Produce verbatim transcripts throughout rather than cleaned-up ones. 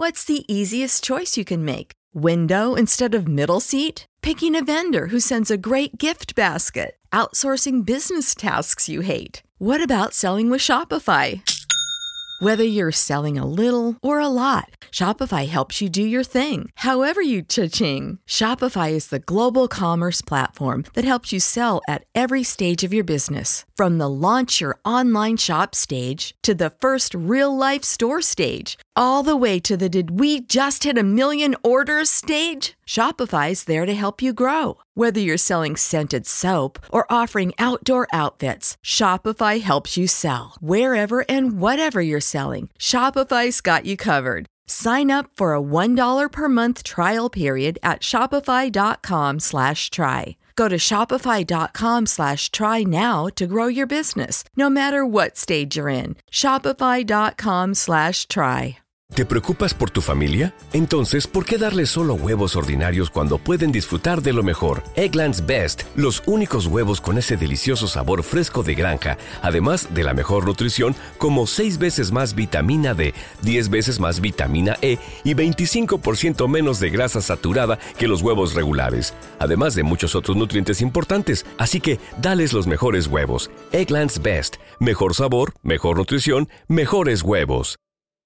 What's the easiest choice you can make? Window instead of middle seat? Picking a vendor who sends a great gift basket? Outsourcing business tasks you hate? What about selling with Shopify? Whether you're selling a little or a lot, Shopify helps you do your thing, however you cha-ching. Shopify is the global commerce platform that helps you sell at every stage of your business. From the launch your online shop stage to the first real-life store stage, all the way to the did we just hit a million orders stage. Shopify's there to help you grow. Whether you're selling scented soap or offering outdoor outfits, Shopify helps you sell. Wherever and whatever you're selling, Shopify's got you covered. Sign up for a one dollar per month trial period at shopify.com slash try. Go to shopify.com slash try now to grow your business, no matter what stage you're in. Shopify.com slash try. ¿Te preocupas por tu familia? Entonces, ¿por qué darles solo huevos ordinarios cuando pueden disfrutar de lo mejor? Eggland's Best, los únicos huevos con ese delicioso sabor fresco de granja, además de la mejor nutrición, como seis veces más vitamina D, diez veces más vitamina E y veinticinco por ciento menos de grasa saturada que los huevos regulares, además de muchos otros nutrientes importantes. Así que, dales los mejores huevos. Eggland's Best, mejor sabor, mejor nutrición, mejores huevos.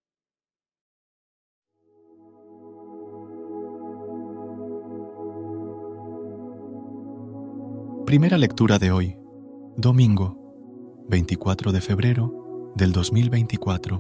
Primera lectura de hoy, domingo, veinticuatro de febrero del dos mil veinticuatro.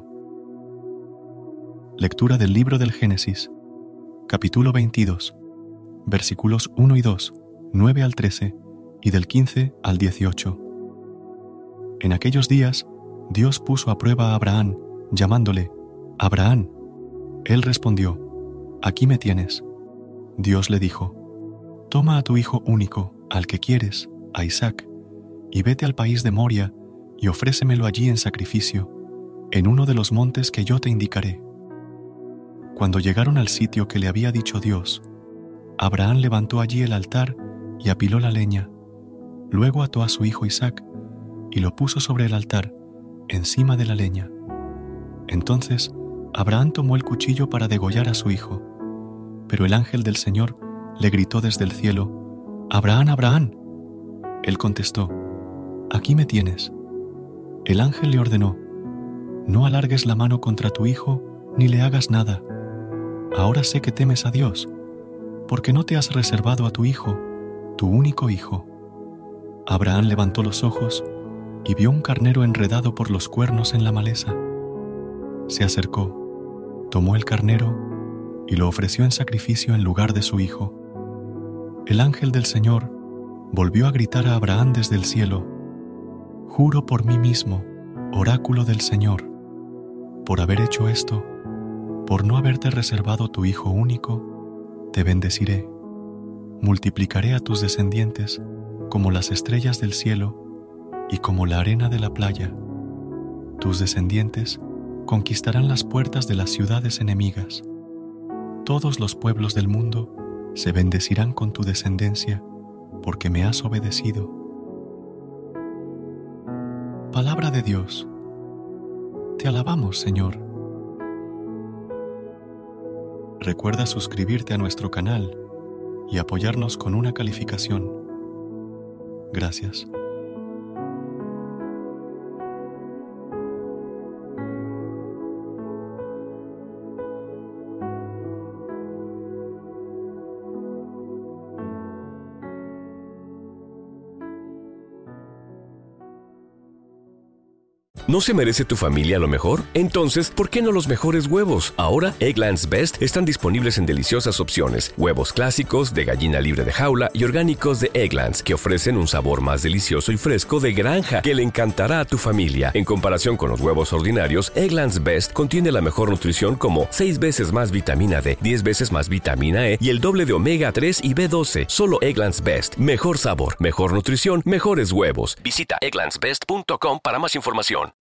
Lectura del libro del Génesis, capítulo veintidós, versículos uno y dos, nueve al trece y del quince al dieciocho. En aquellos días, Dios puso a prueba a Abraham, llamándole, «Abraham». Él respondió, «Aquí me tienes». Dios le dijo, «Toma a tu hijo único, al que quieres, a Isaac, y vete al país de Moria y ofrécemelo allí en sacrificio, en uno de los montes que yo te indicaré». Cuando llegaron al sitio que le había dicho Dios, Abraham levantó allí el altar y apiló la leña. Luego ató a su hijo Isaac y lo puso sobre el altar, encima de la leña. Entonces Abraham tomó el cuchillo para degollar a su hijo, pero el ángel del Señor le gritó desde el cielo, «Abraham, Abraham». Él contestó, «Aquí me tienes». El ángel le ordenó, «No alargues la mano contra tu hijo ni le hagas nada. Ahora sé que temes a Dios, porque no te has reservado a tu hijo, tu único hijo». Abraham levantó los ojos y vio un carnero enredado por los cuernos en la maleza. Se acercó, tomó el carnero y lo ofreció en sacrificio en lugar de su hijo. El ángel del Señor volvió a gritar a Abraham desde el cielo, «Juro por mí mismo, oráculo del Señor, por haber hecho esto, por no haberte reservado tu hijo único, te bendeciré, multiplicaré a tus descendientes como las estrellas del cielo y como la arena de la playa. Tus descendientes conquistarán las puertas de las ciudades enemigas. Todos los pueblos del mundo se bendecirán con tu descendencia, porque me has obedecido». Palabra de Dios. Te alabamos, Señor. Recuerda suscribirte a nuestro canal y apoyarnos con una calificación. Gracias. ¿No se merece tu familia lo mejor? Entonces, ¿por qué no los mejores huevos? Ahora, Eggland's Best están disponibles en deliciosas opciones. Huevos clásicos, de gallina libre de jaula y orgánicos de Eggland's, que ofrecen un sabor más delicioso y fresco de granja que le encantará a tu familia. En comparación con los huevos ordinarios, Eggland's Best contiene la mejor nutrición como seis veces más vitamina D, diez veces más vitamina E y el doble de omega tres y B doce. Solo Eggland's Best. Mejor sabor, mejor nutrición, mejores huevos. Visita egglands best punto com para más información.